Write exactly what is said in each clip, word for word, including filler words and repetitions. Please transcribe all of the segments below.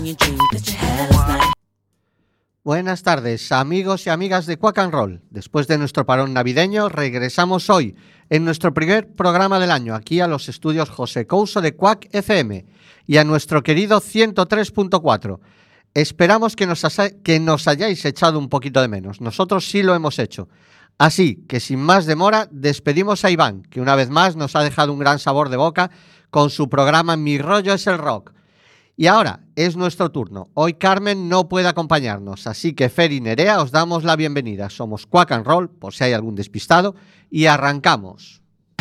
Buenas tardes, amigos y amigas de Quack and Roll. Después de nuestro parón navideño, regresamos hoy en nuestro primer programa del año, aquí a los estudios José Couso de Quack F M y a nuestro querido ciento tres punto cuatro. Esperamos que nos, que nos hayáis echado un poquito de menos. Nosotros sí lo hemos hecho. Así que sin más demora, despedimos a Iván, que una vez más nos ha dejado un gran sabor de boca con su programa Mi rollo es el rock. Y ahora es nuestro turno. Hoy Carmen no puede acompañarnos, así que Fer y Nerea os damos la bienvenida. Somos Quack and Roll, por si hay algún despistado, y arrancamos.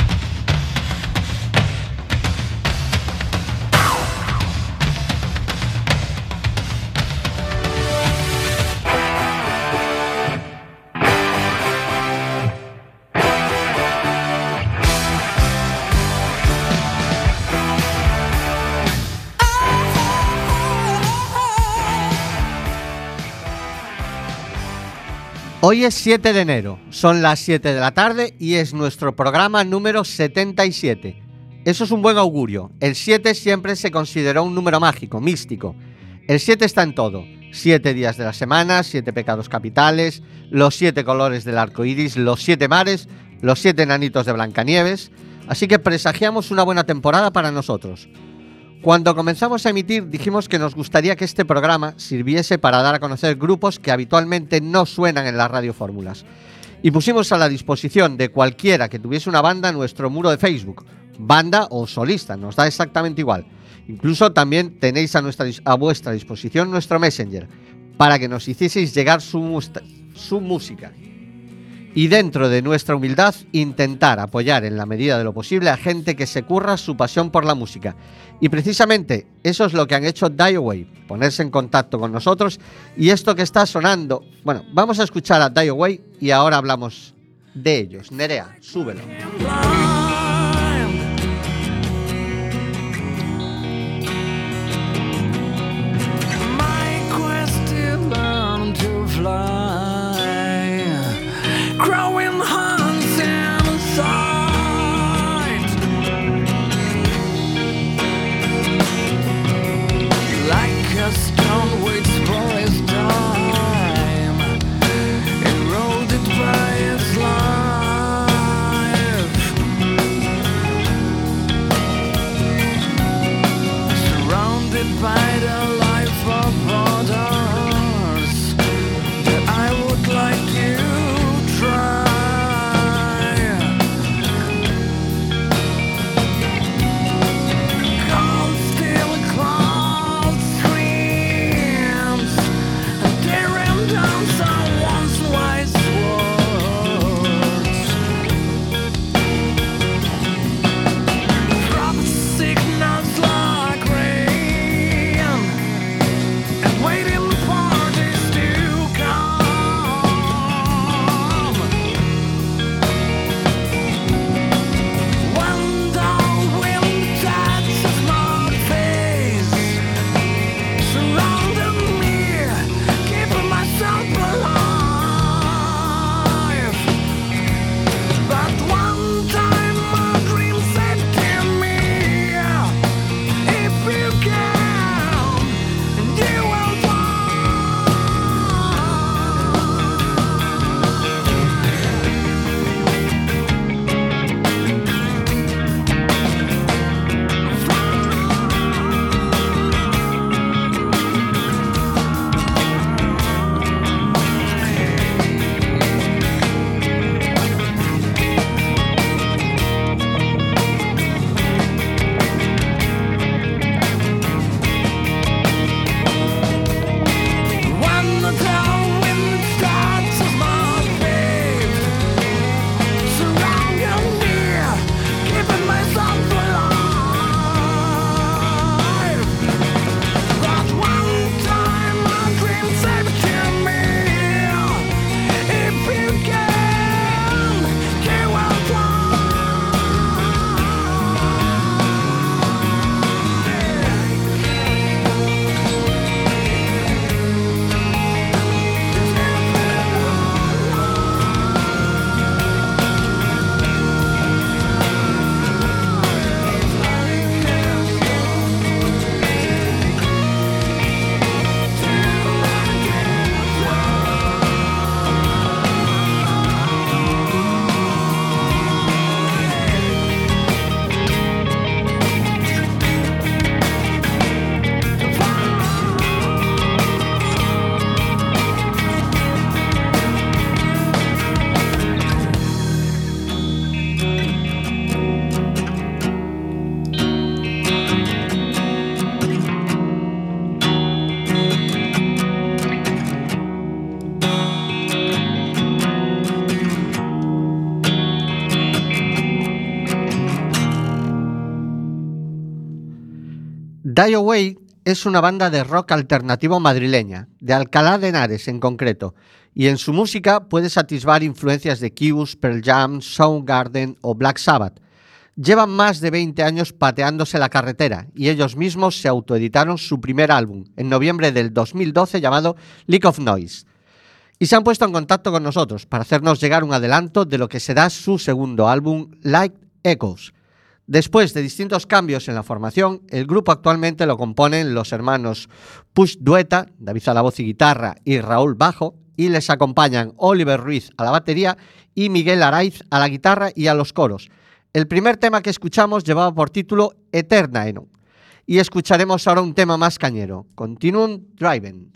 Hoy es siete de enero, son las siete de la tarde y es nuestro programa número setenta y siete. Eso es un buen augurio. El siete siempre se consideró un número mágico, místico. El siete está en todo. Siete días de la semana, siete pecados capitales, los siete colores del arco iris, los siete mares, los siete enanitos de Blancanieves. Así que presagiamos una buena temporada para nosotros. Cuando comenzamos a emitir dijimos que nos gustaría que este programa sirviese para dar a conocer grupos que habitualmente no suenan en las radiofórmulas. Y pusimos a la disposición de cualquiera que tuviese una banda nuestro muro de Facebook, banda o solista, nos da exactamente igual. Incluso también tenéis a, nuestra, a vuestra disposición nuestro Messenger, para que nos hicieseis llegar su, su música. Y dentro de nuestra humildad, intentar apoyar en la medida de lo posible a gente que se curra su pasión por la música. Y precisamente eso es lo que han hecho Die Away, ponerse en contacto con nosotros. Y esto que está sonando, bueno, vamos a escuchar a Die Away y ahora hablamos de ellos. Nerea, súbelo. Growing hands inside, like a stone waits for his time, eroded by his life. Die Away es una banda de rock alternativo madrileña, de Alcalá de Henares en concreto, y en su música puedes atisbar influencias de Kiss, Pearl Jam, Soundgarden o Black Sabbath. Llevan más de veinte años pateándose la carretera y ellos mismos se autoeditaron su primer álbum en noviembre del dos mil doce llamado League of Noise. Y se han puesto en contacto con nosotros para hacernos llegar un adelanto de lo que será su segundo álbum, Light Echoes. Después de distintos cambios en la formación, el grupo actualmente lo componen los hermanos Push Dueta, David a la voz y guitarra y Raúl bajo, y les acompañan Oliver Ruiz a la batería y Miguel Araiz a la guitarra y a los coros. El primer tema que escuchamos llevaba por título Eternaeno, y escucharemos ahora un tema más cañero, Continuum Driving.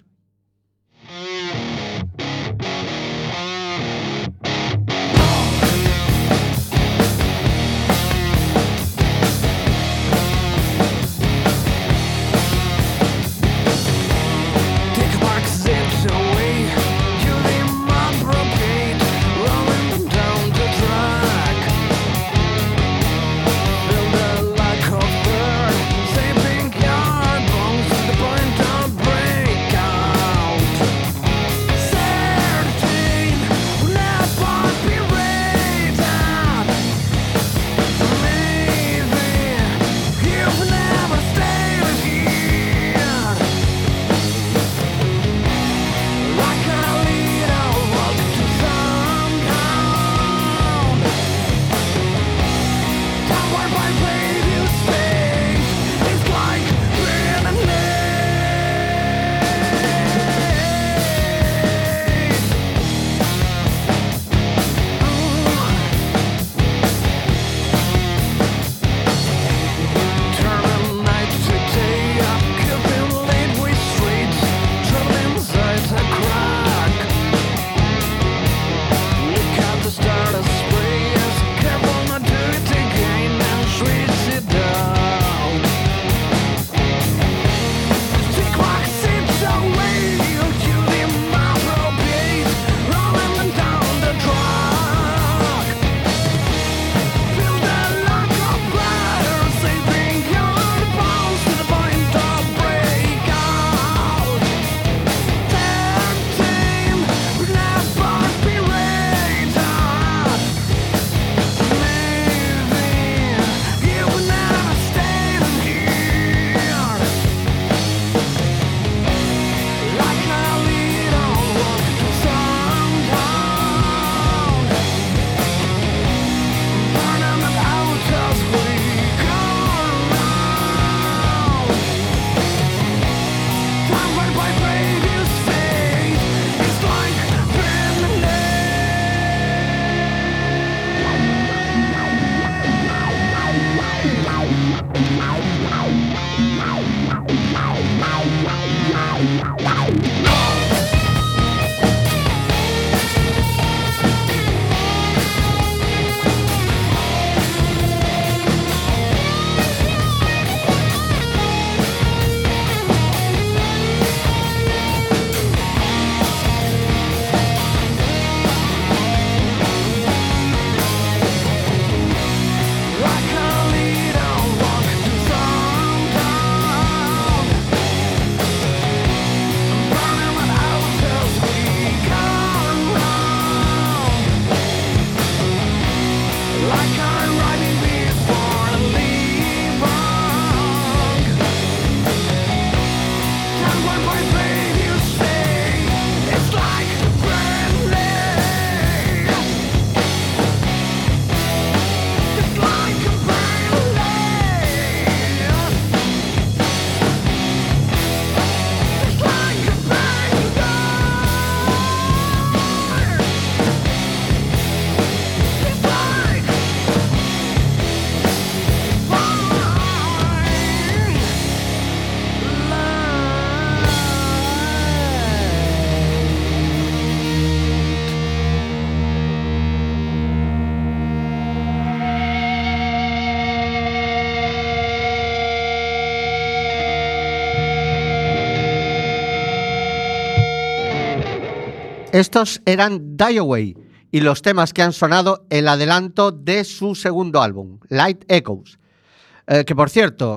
Estos eran Die Away y los temas que han sonado el adelanto de su segundo álbum, Light Echoes. Eh, que por cierto,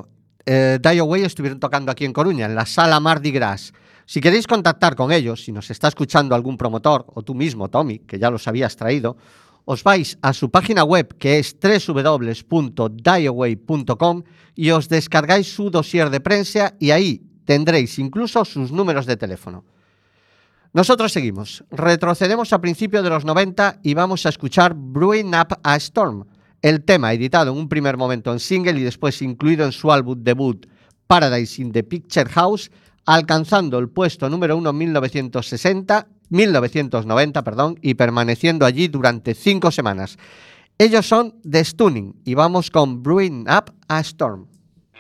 eh, Die Away estuvieron tocando aquí en Coruña, en la Sala Mardi Gras. Si queréis contactar con ellos, si nos está escuchando algún promotor, o tú mismo, Tommy, que ya los habías traído, os vais a su página web, que es doble u doble u doble u punto die away punto com, y os descargáis su dossier de prensa y ahí tendréis incluso sus números de teléfono. Nosotros seguimos. Retrocedemos a principios de los noventa y vamos a escuchar Brewing Up a Storm, el tema editado en un primer momento en single y después incluido en su álbum debut Paradise in the Picture House, alcanzando el puesto número uno en mil novecientos sesenta, mil novecientos noventa, perdón, y permaneciendo allí durante cinco semanas. Ellos son The Stunning y vamos con Brewing Up a Storm.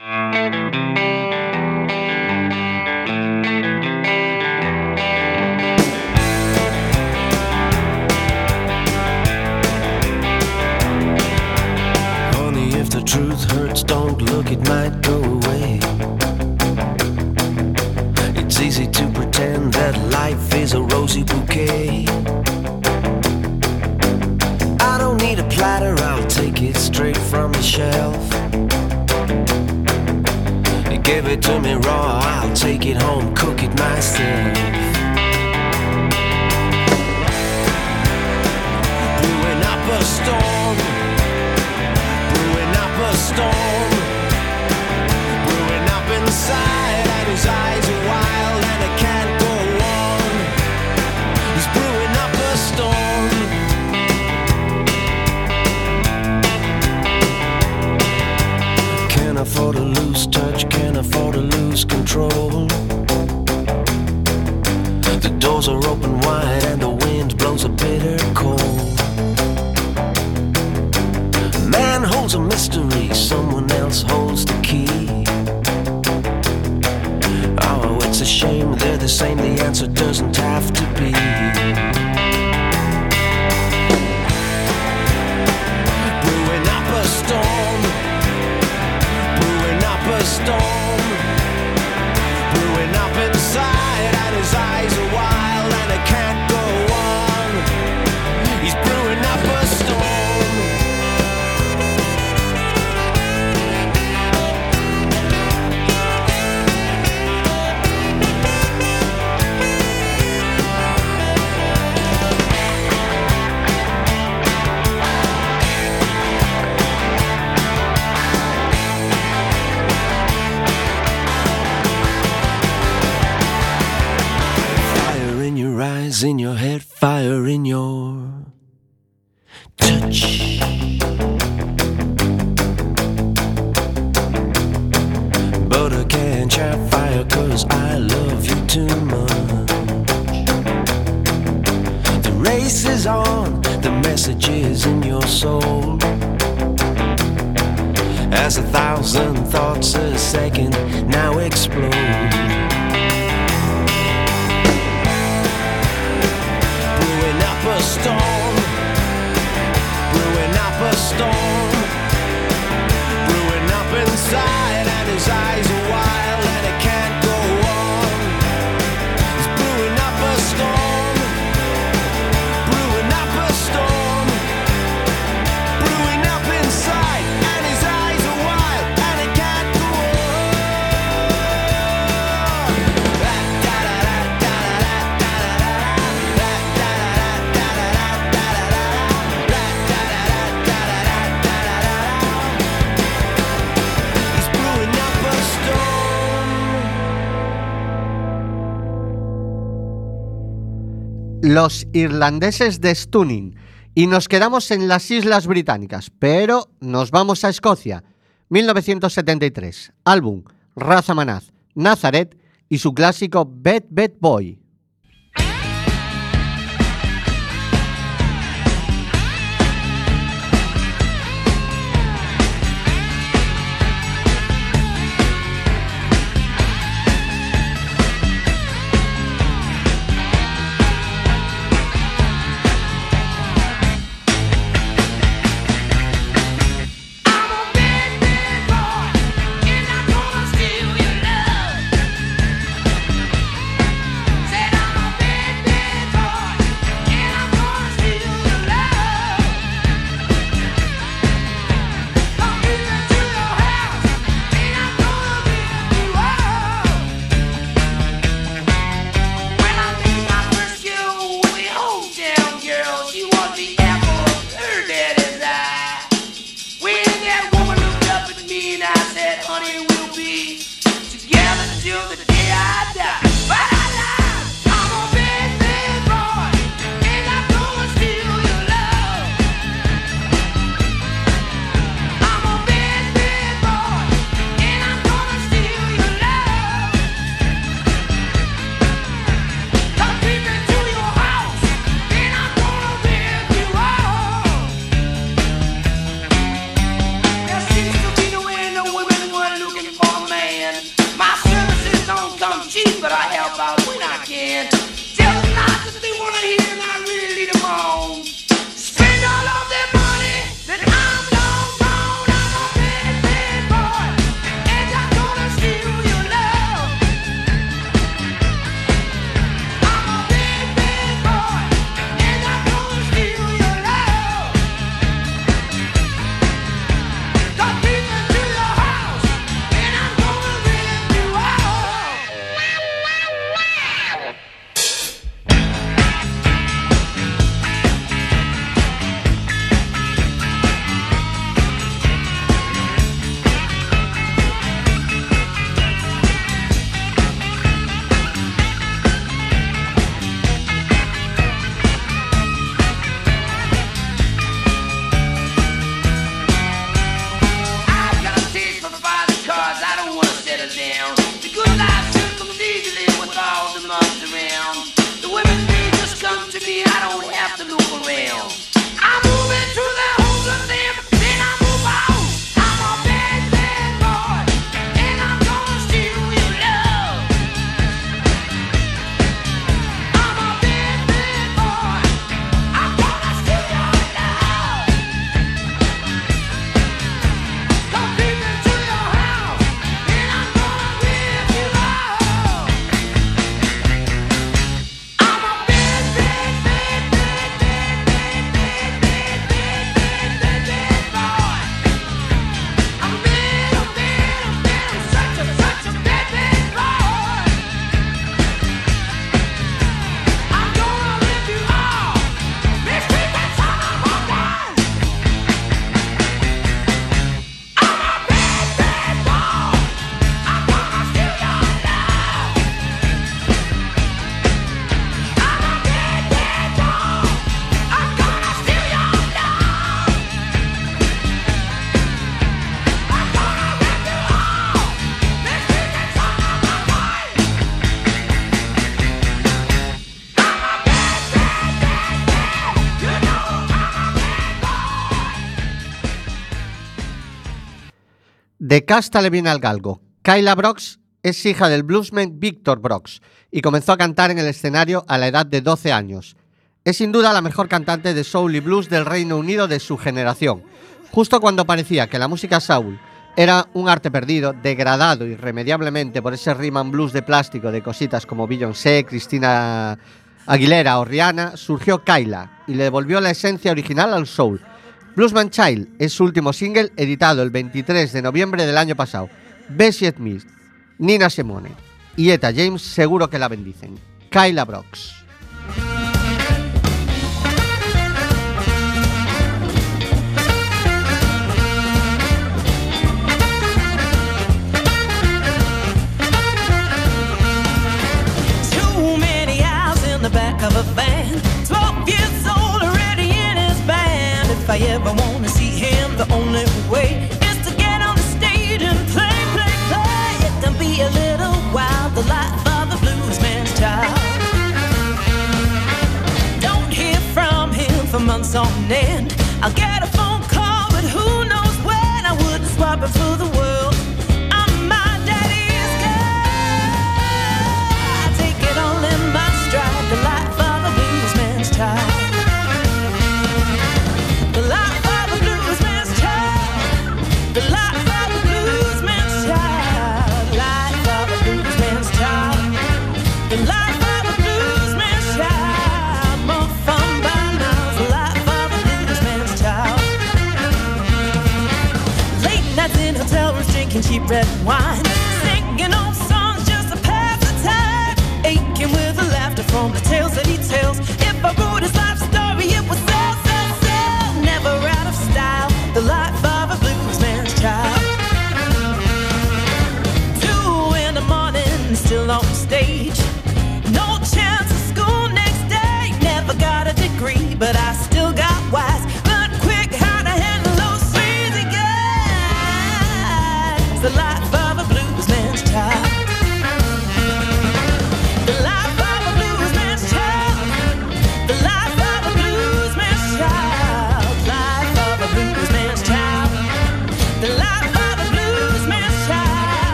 Honey, if the truth hurts, don't look, it might go away. It's easy to pretend that life is a rosy bouquet. I don't need a platter, I'll take it straight from the shelf. You give it to me raw, I'll take it home, cook it myself. Brewing up a storm, brewing up a storm, brewing up inside, and his eyes are wild and it can't go on. He's brewing up a storm. Can't afford to lose touch, can't afford to lose control. The doors are open wide and the wind blows a bitter cold. Man holds a mystery, someone else holds the key. Oh, it's a shame they're the same, the answer doesn't have to be. Brewing up a storm, brewing up a storm, brewing up inside, and his eyes are wild and it can't go on. He's brewing up a storm. In your head, fire in your touch. But I can't chat fire cause I love you too much. The race is on, the message is in your soul. As a thousand thoughts a second now explode. A storm, brewing up a storm, brewing up inside, and his eyes are wild and it can't go on. He's brewing up a storm, brewing up a storm, brewing up inside, and his eyes are wild and it can't go Los irlandeses de Stunning, y nos quedamos en las Islas Británicas, pero nos vamos a Escocia. mil novecientos setenta y tres, álbum Razamanaz, Nazareth y su clásico Bed Bed Boy. Say help out when I can. Tell them not that they wanna hear and I really lead them on. Spend all of their money, then I'm long gone. I'm a bad, bad boy, and I'm gonna steal your love. I'm a bad, bad boy, and I'm gonna steal your love. Got people to your house, and I'm gonna rip you out. I've got a taste for fighting cars, I don't wanna settle down. The good life should come legally with all the months around. The women, they just come to me, I don't have to look around. I'm moving to the homes of them, then I move out. I'm a bad, bad boy, and I'm gonna steal your love. I'm a bad, bad boy, I'm gonna steal your love. Come creep into your house, and I'm gonna rip you out. I'm a bad, bad, bad, bad, bad, bad, bad, bad, bad, bad, bad boy. I'm a bad, I'm bad, I'm bad, I'm such a, such a bad, bad boy. I'm gonna rip you off, mistreat that son of a gun. I'm a bad, bad boy. I'm gonna steal your love. I'm a bad, bad boy. I'm gonna steal your love. I'm gonna rip you off, mistreat that son of a gun. I'm a bad, bad, bad, bad. You know I'm a bad boy. De casta le viene al galgo. Kyla Brooks es hija del bluesman Victor Brooks y comenzó a cantar en el escenario a la edad de doce años. Es sin duda la mejor cantante de soul y blues del Reino Unido de su generación. Justo cuando parecía que la música soul era un arte perdido, degradado irremediablemente por ese rhythm and blues de plástico de cositas como Beyoncé, Cristina Aguilera o Rihanna, surgió Kyla y le devolvió la esencia original al soul. Bluesman Child es su último single, editado el veintitrés de noviembre del año pasado. Bessie Smith, Nina Simone y Etta James seguro que la bendicen. Kyla Brooks. Too many hours in the back of a van. Twelve years old, already in his band. If I ever wanna see him, the only way is to get on the stage and play, play, play. It can be a little wild, the life of a bluesman's child. Don't hear from him for months on end. I'll get a phone call, but who knows when. I wouldn't swap it for the world. I'm my daddy's girl. I take it all in my stride, the life of a bluesman's child. The life of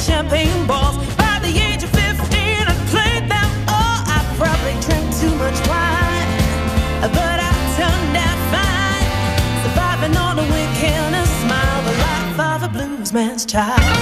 champagne balls. By the age of fifteen, I played them all. I probably drank too much wine, but I turned out fine, surviving on a wink and a smile, the life of a bluesman's child.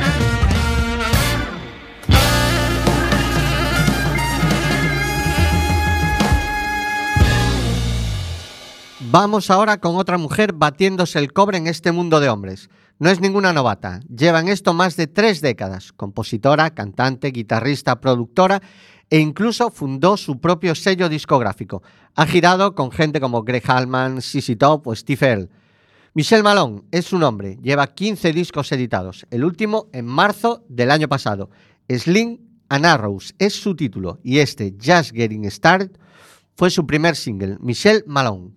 Vamos ahora con otra mujer batiéndose el cobre en este mundo de hombres. No es ninguna novata, lleva en esto más de tres décadas. Compositora, cantante, guitarrista, productora e incluso fundó su propio sello discográfico. Ha girado con gente como Greg Allman, Z Z Top o Steve Earle. Michelle Malone es su nombre, lleva quince discos editados, el último en marzo del año pasado. Sling and Arrows es su título y este, Just Getting Started, fue su primer single, Michelle Malone.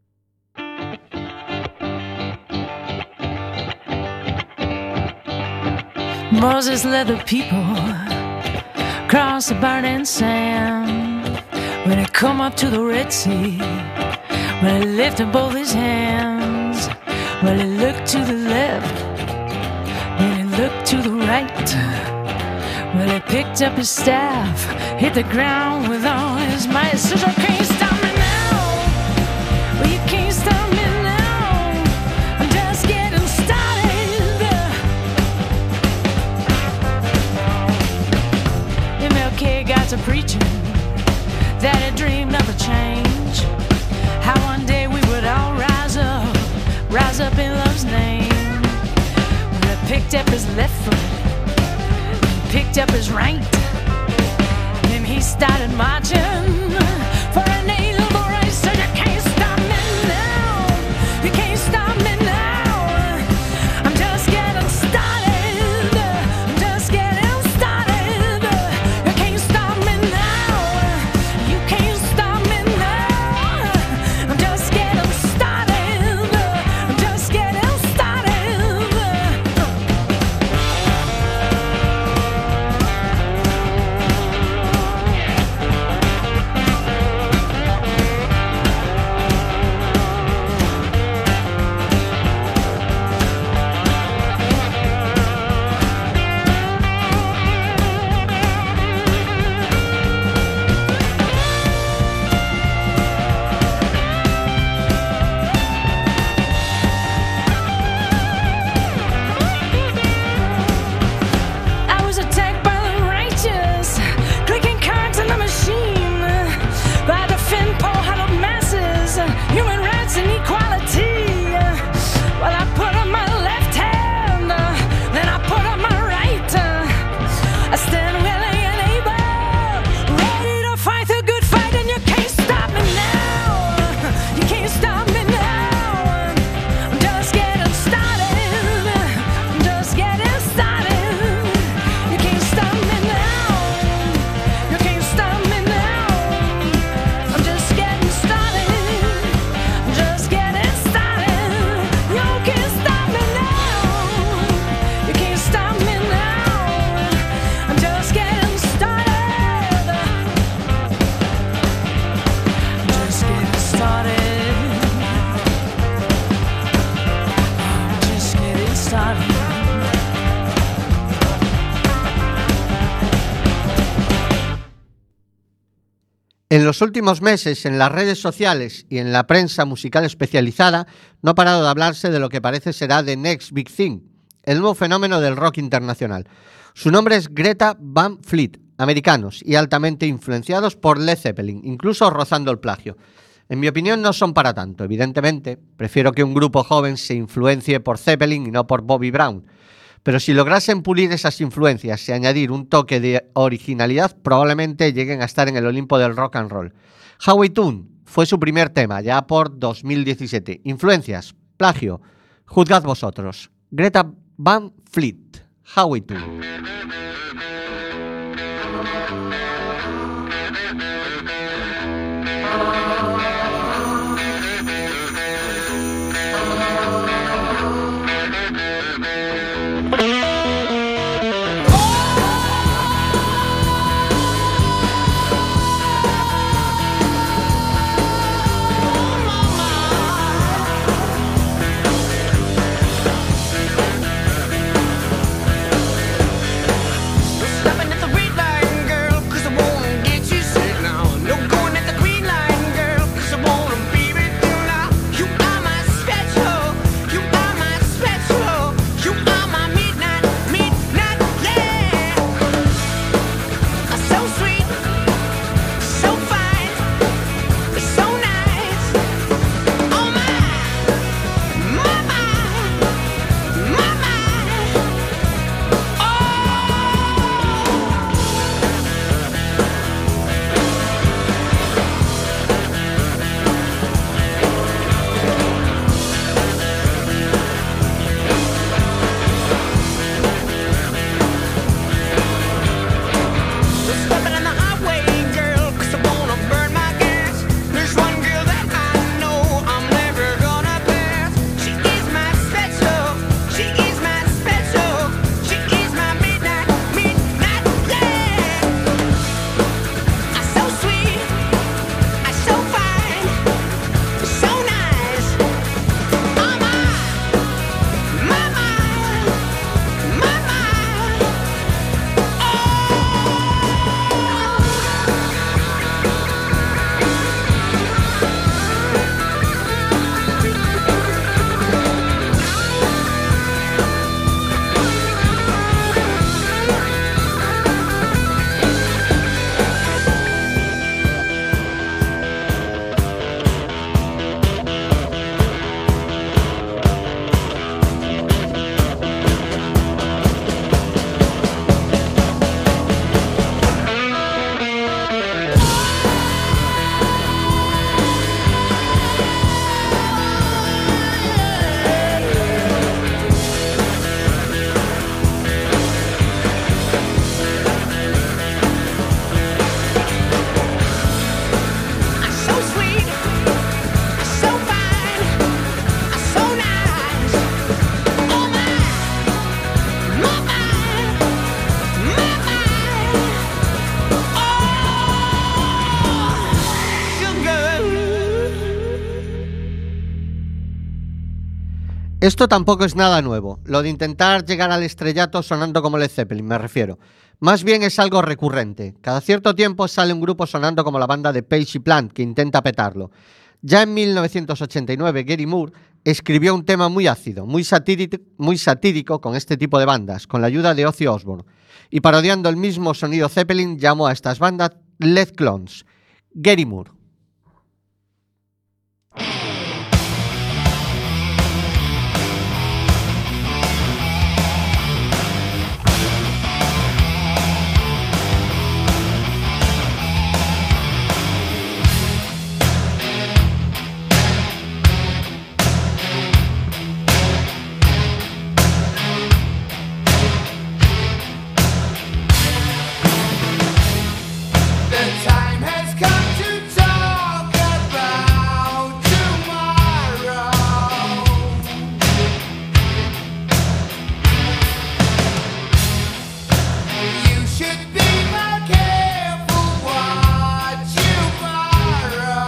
Moses led the people across the burning sand. When he come up to the Red Sea, when he lifted both his hands, when he looked to the left, when he looked to the right, when he picked up his staff, hit the ground with all his might. Says, you can't stop me now. Well, you can't stop me now. I'm just getting started. M L K got to preaching that he dreamed of a change, how one day we would all rise up, rise up in love's name. When he picked up his left foot, picked up his right, then he started marching for an inalienable right. So you can't stop me now, you can't stop me now. I'm just getting started, I'm just getting started. You can't stop me now, you can't stop me now. I'm just getting started, I'm just getting started. I was attacked by the righteous, clicking cards in the machine, by the fin-pole huddled masses, human rights and equality. Well, I put on my left hand, then I put on my right. I stand willing and able, ready to fight the good fight, and you can't stop me now. You can't stop me now. I'm just getting started. I'm just getting started. You can't stop me now. You can't stop me now. I'm just getting started. I'm just getting started. You can't stop me now. You can't stop me now. I'm just getting started. I'm just getting started. I'm just getting started. En los últimos meses, en las redes sociales y en la prensa musical especializada, no ha parado de hablarse de lo que parece será The Next Big Thing, el nuevo fenómeno del rock internacional. Su nombre es Greta Van Fleet, americanos y altamente influenciados por Led Zeppelin, incluso rozando el plagio. En mi opinión no son para tanto, evidentemente. Prefiero que un grupo joven se influencie por Zeppelin y no por Bobby Brown. Pero si lograsen pulir esas influencias y añadir un toque de originalidad, probablemente lleguen a estar en el Olimpo del rock and roll. Howie Tune fue su primer tema, ya por dos mil diecisiete. Influencias, plagio, juzgad vosotros. Greta Van Fleet, Howie Tune. Oh, Esto tampoco es nada nuevo, lo de intentar llegar al estrellato sonando como Led Zeppelin, me refiero. Más bien es algo recurrente. Cada cierto tiempo sale un grupo sonando como la banda de Page y Plant, que intenta petarlo. Ya en mil novecientos ochenta y nueve, Gary Moore escribió un tema muy ácido, muy satírico, muy satírico con este tipo de bandas, con la ayuda de Ozzy Osbourne. Y parodiando el mismo sonido Zeppelin, llamó a estas bandas Led Clones. Gary Moore. The time has come to talk about tomorrow. You should be more careful what you borrow.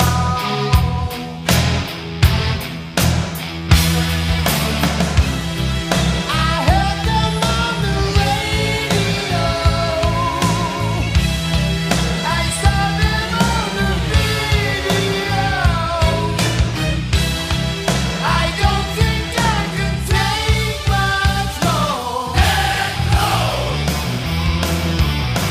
I heard them on the radio. I saw them on the video. I don't think I can take much more. Let go.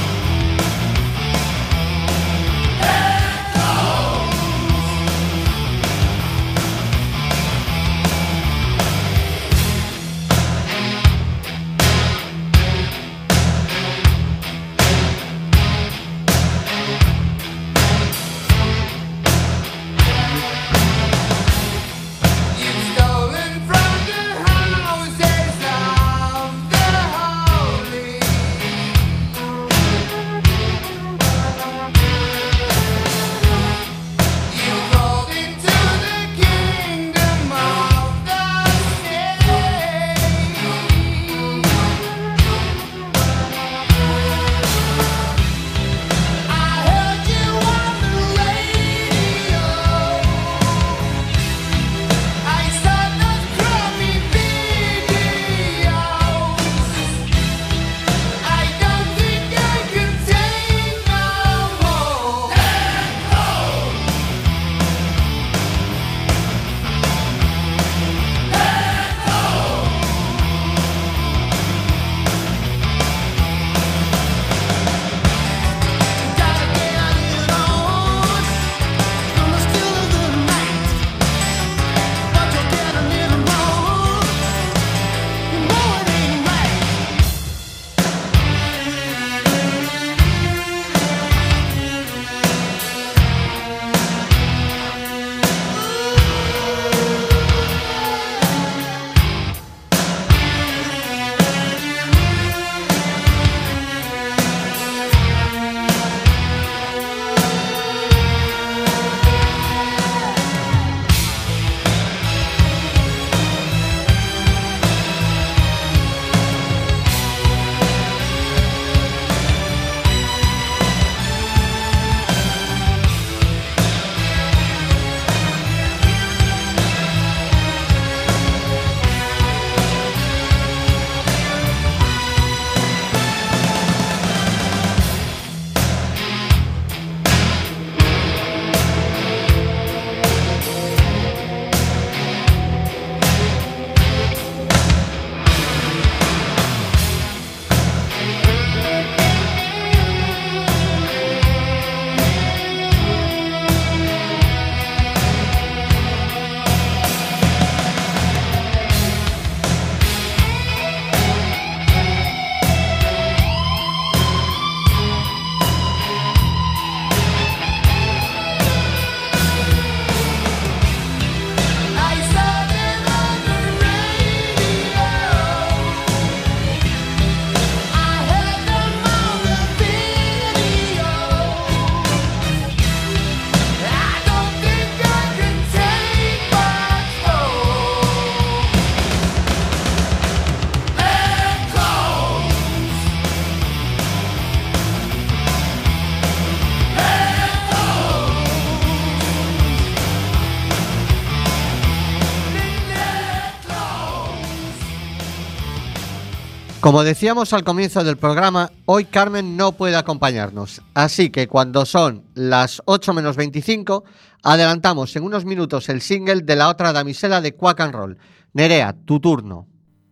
Como decíamos al comienzo del programa, hoy Carmen no puede acompañarnos, así que cuando son las ocho menos veinticinco, adelantamos en unos minutos el single de la otra damisela de Quack and Roll. Nerea, tu turno.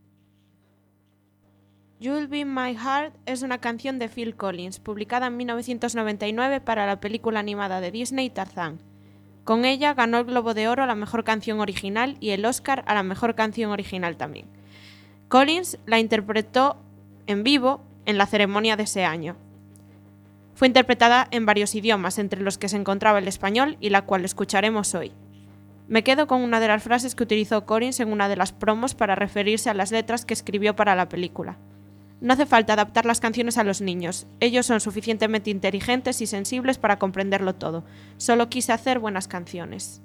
You'll Be My Heart es una canción de Phil Collins, publicada en mil novecientos noventa y nueve para la película animada de Disney Tarzán. Con ella ganó el Globo de Oro a la mejor canción original y el Oscar a la mejor canción original también. Collins la interpretó en vivo en la ceremonia de ese año. Fue interpretada en varios idiomas, entre los que se encontraba el español y la cual escucharemos hoy. Me quedo con una de las frases que utilizó Collins en una de las promos para referirse a las letras que escribió para la película. No hace falta adaptar las canciones a los niños, ellos son suficientemente inteligentes y sensibles para comprenderlo todo. Solo quise hacer buenas canciones.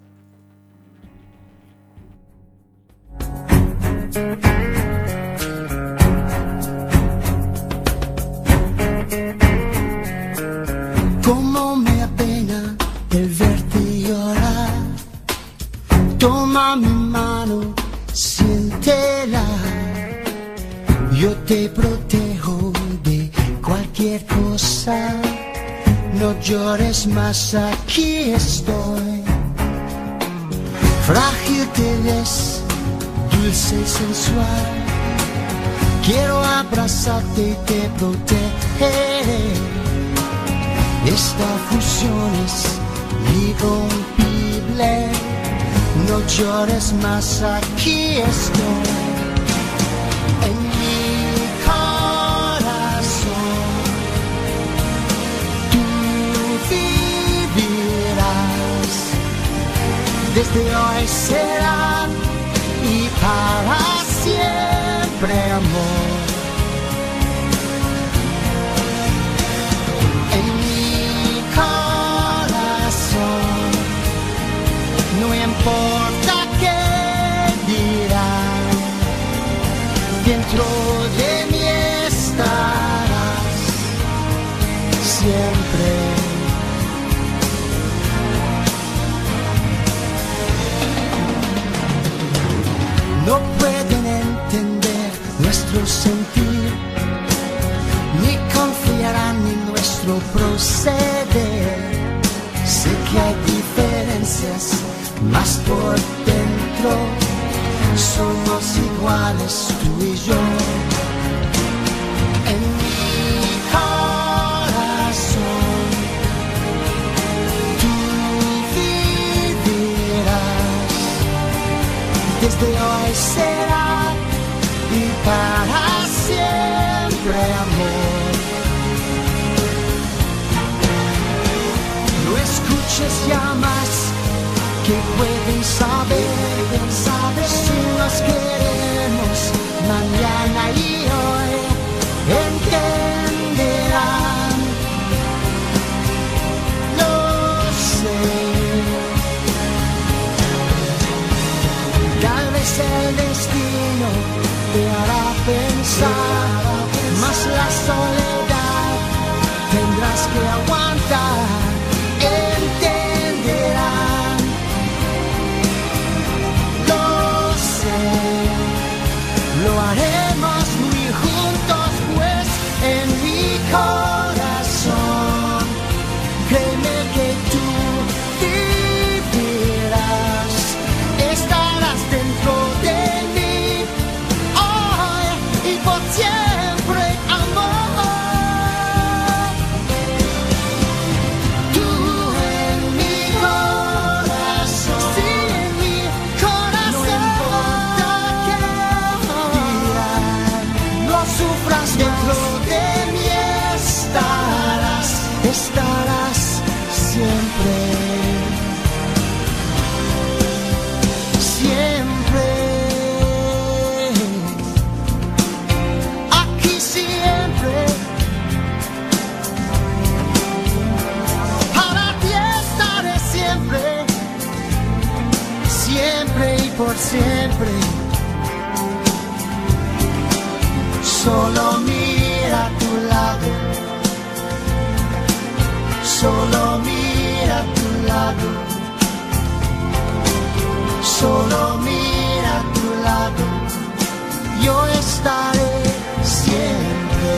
Cómo me apena el verte llorar. Toma mi mano, siéntela. Yo te protejo de cualquier cosa. No llores más, aquí estoy. Frágil te ves, dulce y sensual. Quiero abrazarte y te protegeré. Esta fusión es irrompible. No llores más, aquí estoy. En mi corazón tú vivirás. Desde hoy será y para siempre, amor. No importa qué dirán, dentro de mí estarás siempre. No pueden entender nuestro sentir, ni confiarán en nuestro proceder. Sé que hay diferencias, mas por dentro somos iguales tú y yo. En mi corazón tú vivirás. Desde hoy será y para siempre, amor. No escuches ya más, que pueden saber, saber si nos queremos mañana y hoy entenderán. Lo sé. Tal vez el destino te hará pensar, mas la soledad tendrás que aguantar. Entenderán. Lo haremos muy juntos, pues en mi corazón, créeme que tú vivirás, estarás dentro de mí, hoy y por siempre, amor. Tú en mi corazón, sí, en mi corazón. Sufras dentro de mí estarás, estarás siempre, siempre, aquí siempre, para ti estaré siempre, siempre y por siempre. Solo mira a tu lado, solo mira a tu lado, solo mira a tu lado, yo estaré siempre.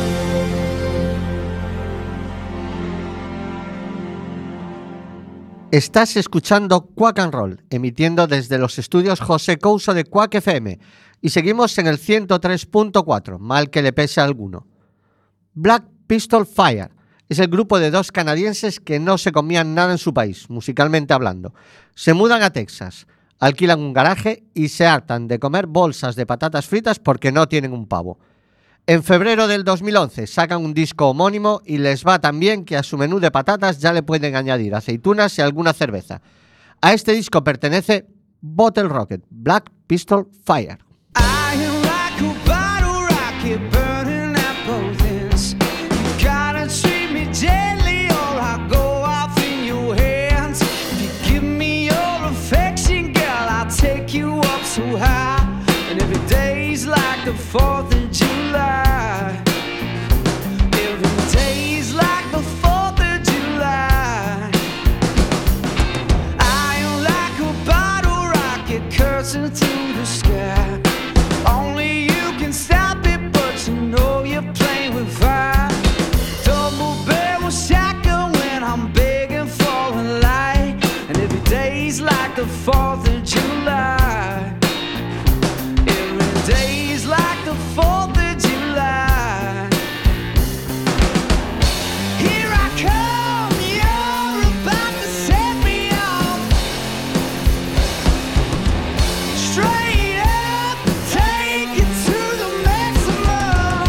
Estás escuchando Quack and Roll, emitiendo desde los estudios José Couso de Quack F M, y seguimos en el ciento tres punto cuatro, mal que le pese a alguno. Black Pistol Fire es el grupo de dos canadienses que no se comían nada en su país, musicalmente hablando. Se mudan a Texas, alquilan un garaje y se hartan de comer bolsas de patatas fritas porque no tienen un pavo. En febrero del dos mil once sacan un disco homónimo y les va tan bien que a su menú de patatas ya le pueden añadir aceitunas y alguna cerveza. A este disco pertenece Bottle Rocket, Black Pistol Fire. I am like a bottle rocket burning at both ends. You gotta treat me gently or I'll go off in your hands. If you give me your affection, girl, I'll take you up so high. And every day's like the fourth of July. Every day's like the fourth of July. I am like a bottle rocket cursing through the sky. Only you can stop it, but you know you're playing with fire. Double barrel shotgun when I'm begging for a light. And every day's like the fourth of July. Every day's like the fourth of July. Here I come, you're about to set me off. Straight up, take it to the maximum.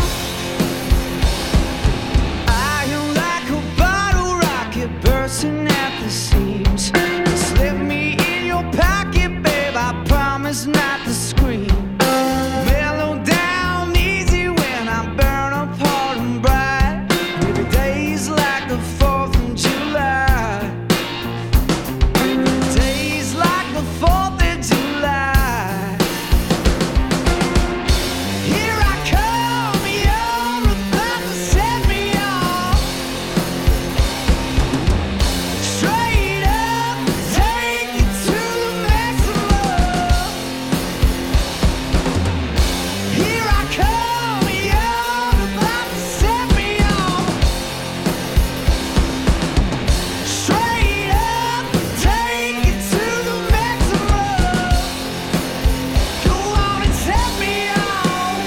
I am like a bottle rocket bursting at the seams. Slip me in your pocket, babe, I promise not to scream. Mellow down easy when I burn apart and bright. Every day's like the fourth of July. Every day's like the fourth of July. Here I come, you're about to set me off. Straight up, take it to the maximum. Here I come, you're about to set me off. Straight up, take it to the maximum. Go on and set me off.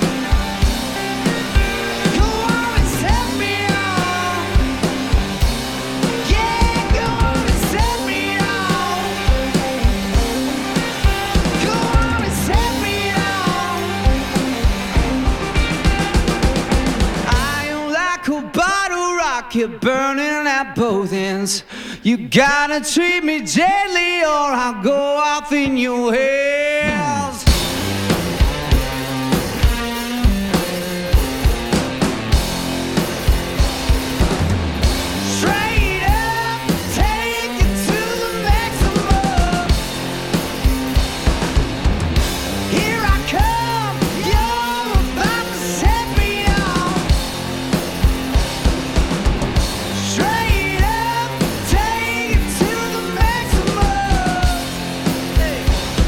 Go on and set me off. Yeah, go on and set me off. Go on and set me off. I am like a bottle rocket burning at both ends. You gotta treat me gently or I'll go off in your hands. Straight up, take it to the maximum. Here I come, you're about to set me off. Straight up, take it to the maximum. Hey.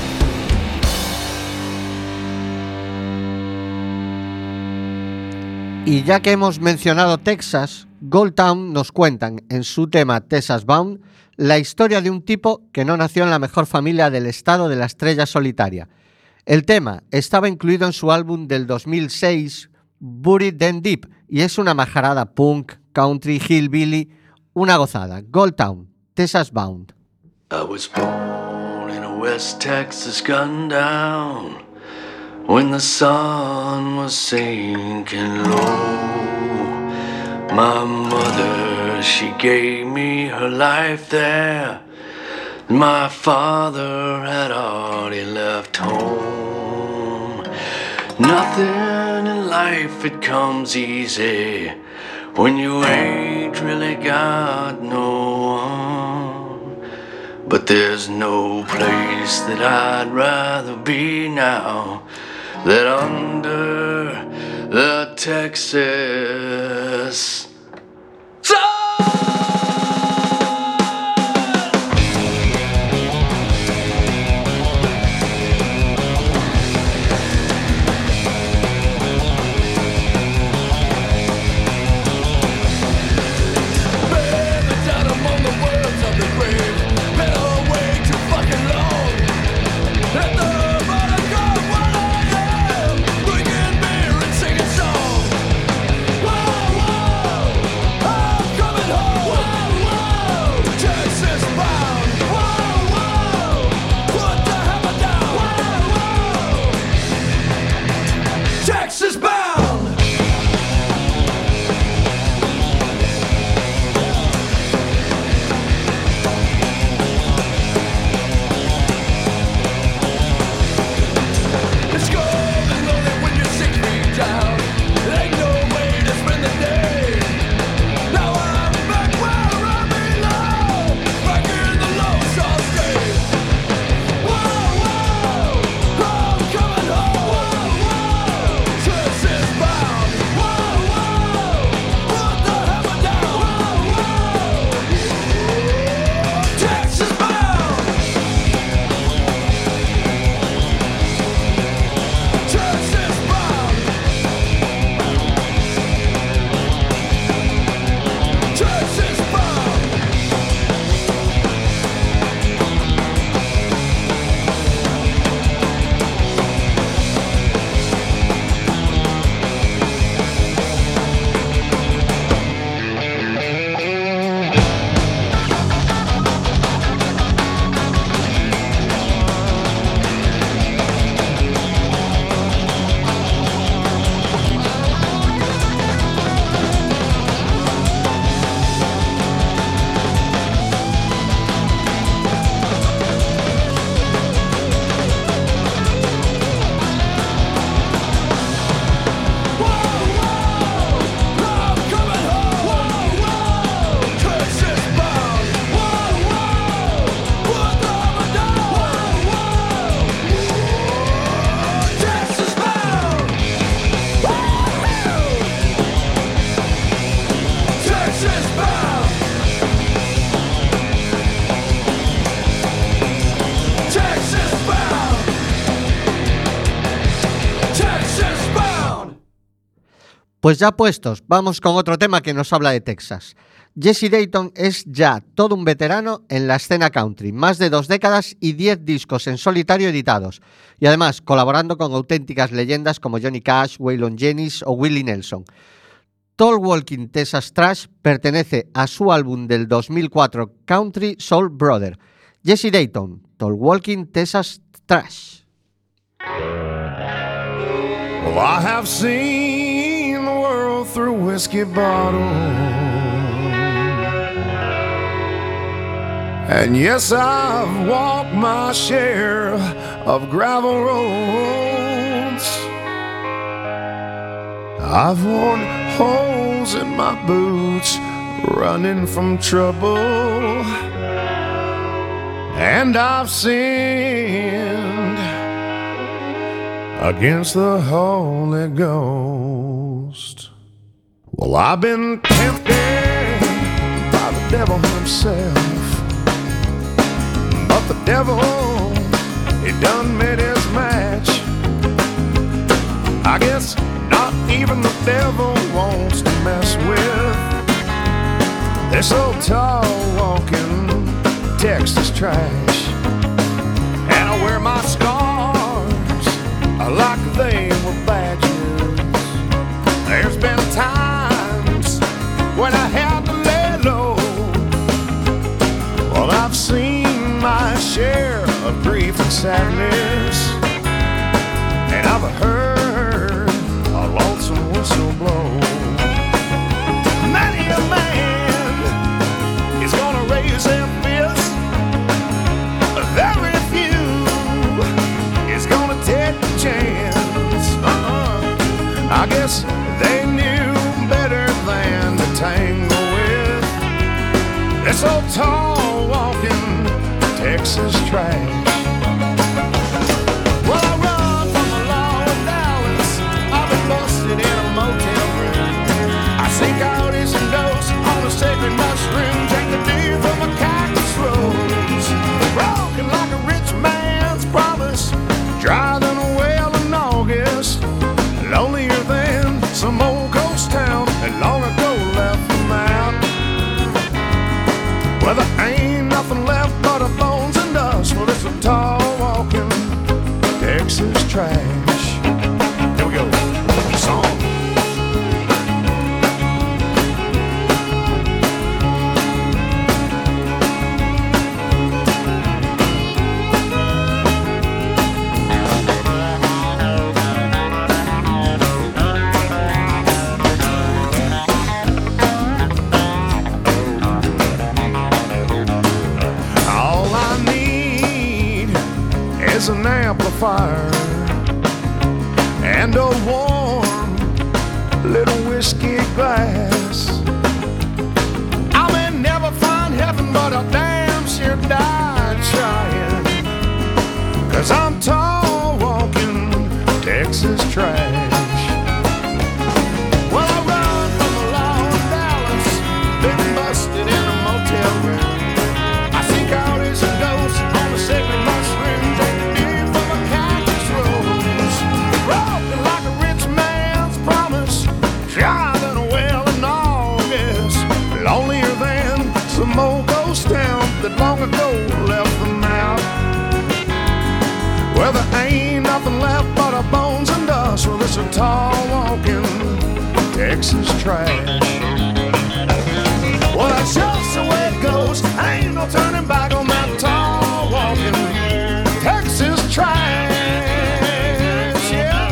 Y ya que hemos mencionado Texas, Gold Town nos cuentan en su tema Texas Bound la historia de un tipo que no nació en la mejor familia del estado de la estrella solitaria. El tema estaba incluido en su álbum del dos mil seis, Buried Them Deep, y es una majarada punk, country, hillbilly, una gozada. Gold Town, Texas Bound. I was born in a West Texas gundown when the sun was sinking low. My mother, she gave me her life there. My father had already left home. Nothing in life, it comes easy when you ain't really got no one. But there's no place that I'd rather be now than under the Texas sun. Pues ya puestos, vamos con otro tema que nos habla de Texas. Jesse Dayton es ya todo un veterano en la escena country, más de dos décadas y diez discos en solitario editados, y además colaborando con auténticas leyendas como Johnny Cash, Waylon Jennings o Willie Nelson. Tall Walking Texas Trash pertenece a su álbum del dos mil cuatro Country Soul Brother. Jesse Dayton, Tall Walking Texas Trash. Well, I have seen the world through whiskey bottles, and yes, I've walked my share of gravel roads. I've worn holes in my boots running from trouble, and I've sinned against the Holy Ghost. Well, I've been tempted by the devil himself, but the devil, he done made his match. I guess not even the devil wants to mess with this old tall walking Texas trash. And I wear my scars like they were badges. There's been times when I had to lay low. Well, I've seen my share of grief and sadness, and I've heard a lonesome whistle blow. Many a man is gonna raise their fist, but very few is gonna take a chance. Uh-uh. I guess they knew better than to tangle with this old tall walking Texas trash. Well, I run from the law of Dallas. I've been busted in a motel room. I see coyotes and ghosts on a sacred mushroom. Drink the dew from a cactus rose. Broken like a rich man's promise. Drier than a well in August. Lonelier than some old ghost town that long ago left them out. Well, there ain't nothing left but a bones and dust. Well, it's a tall walking Texas trash. Here we go. Song. All I need is an amplifier and a warm little whiskey glass. I may never find heaven, but I damn sure died trying. Cause I'm tall walking Texas trash. Well, I run from the law of Dallas, been busted in a motel room. I see coyotes and ghosts on the sacred mushroom. Drink the dew from a cactus rose. Broken like a rich man's promise. Drier than a well in August. Lonelier than some old ghost town that long ago left them out. Well, there ain't nothing left but our bones and dust. Well, it's a tall walking Texas trash. Well, that's just the way it goes. Ain't no turning back on that tall walking Texas trash. Yeah.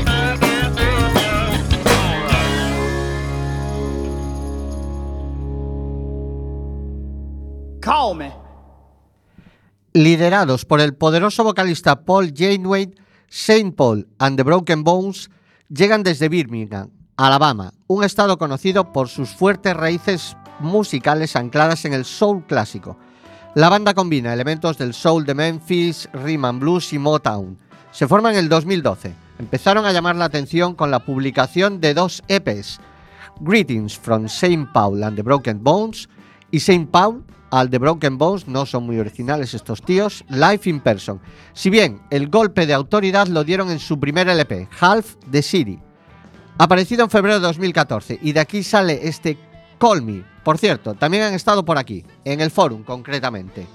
Call me. Liderados por el poderoso vocalista Paul Janeway, Saint Paul and the Broken Bones llegan desde Birmingham, Alabama, un estado conocido por sus fuertes raíces musicales ancladas en el soul clásico. La banda combina elementos del soul de Memphis, rhythm and blues y Motown. Se forma en el dos mil doce. Empezaron a llamar la atención con la publicación de dos E Pes, Greetings from Saint Paul and the Broken Bones y Saint Paul and the Broken Bones, no son muy originales estos tíos, Live in Person. Si bien el golpe de autoridad lo dieron en su primer L P, Half the City. Aparecido en febrero de dos mil catorce, y de aquí sale este Call Me. Por cierto, también han estado por aquí, en el Forum concretamente.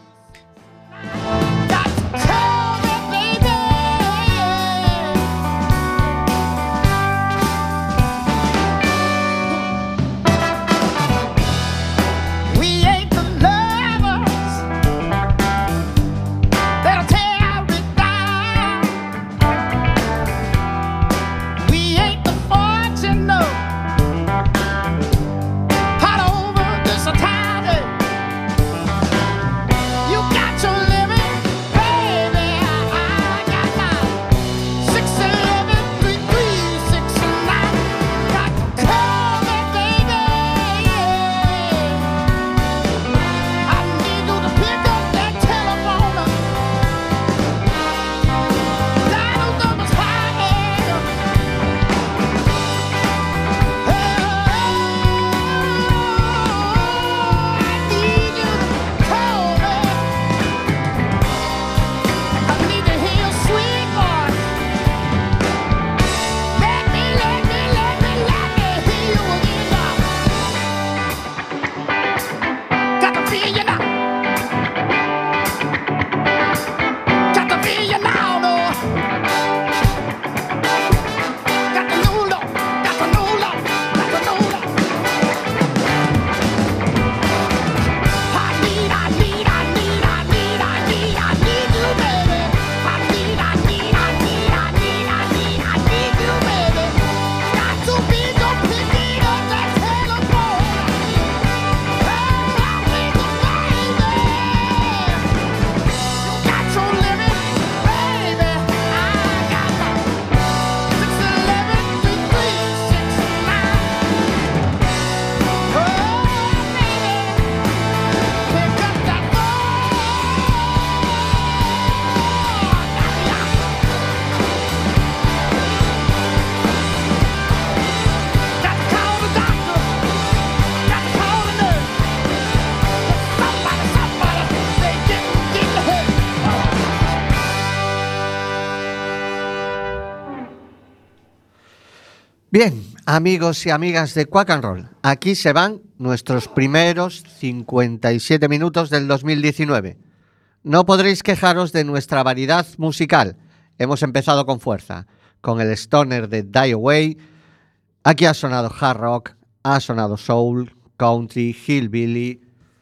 Bien, amigos y amigas de Quack and Roll, aquí se van nuestros primeros cincuenta y siete minutos del dos mil diecinueve. No podréis quejaros de nuestra variedad musical. Hemos empezado con fuerza, con el stoner de Die Away. Aquí ha sonado hard rock, ha sonado soul, country, hillbilly.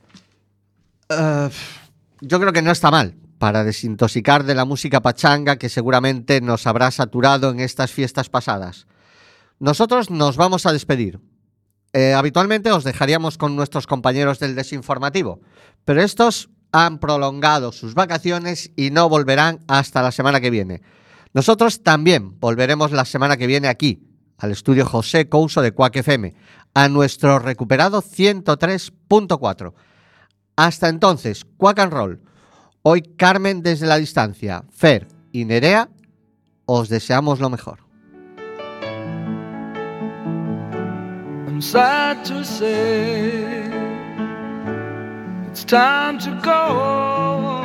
Uh, yo creo que no está mal para desintoxicar de la música pachanga que seguramente nos habrá saturado en estas fiestas pasadas. Nosotros nos vamos a despedir. Eh, habitualmente os dejaríamos con nuestros compañeros del Desinformativo, pero estos han prolongado sus vacaciones y no volverán hasta la semana que viene. Nosotros también volveremos la semana que viene aquí, al estudio José Couso de Quack F M, a nuestro recuperado ciento tres punto cuatro. Hasta entonces, Quack and Roll. Hoy Carmen desde la distancia, Fer y Nerea, os deseamos lo mejor. I'm sad to say it's time to go,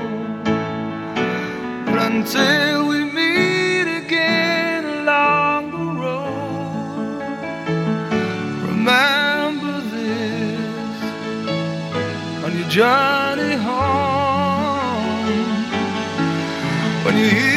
but until we meet again along the road, remember this on your journey home, when you hear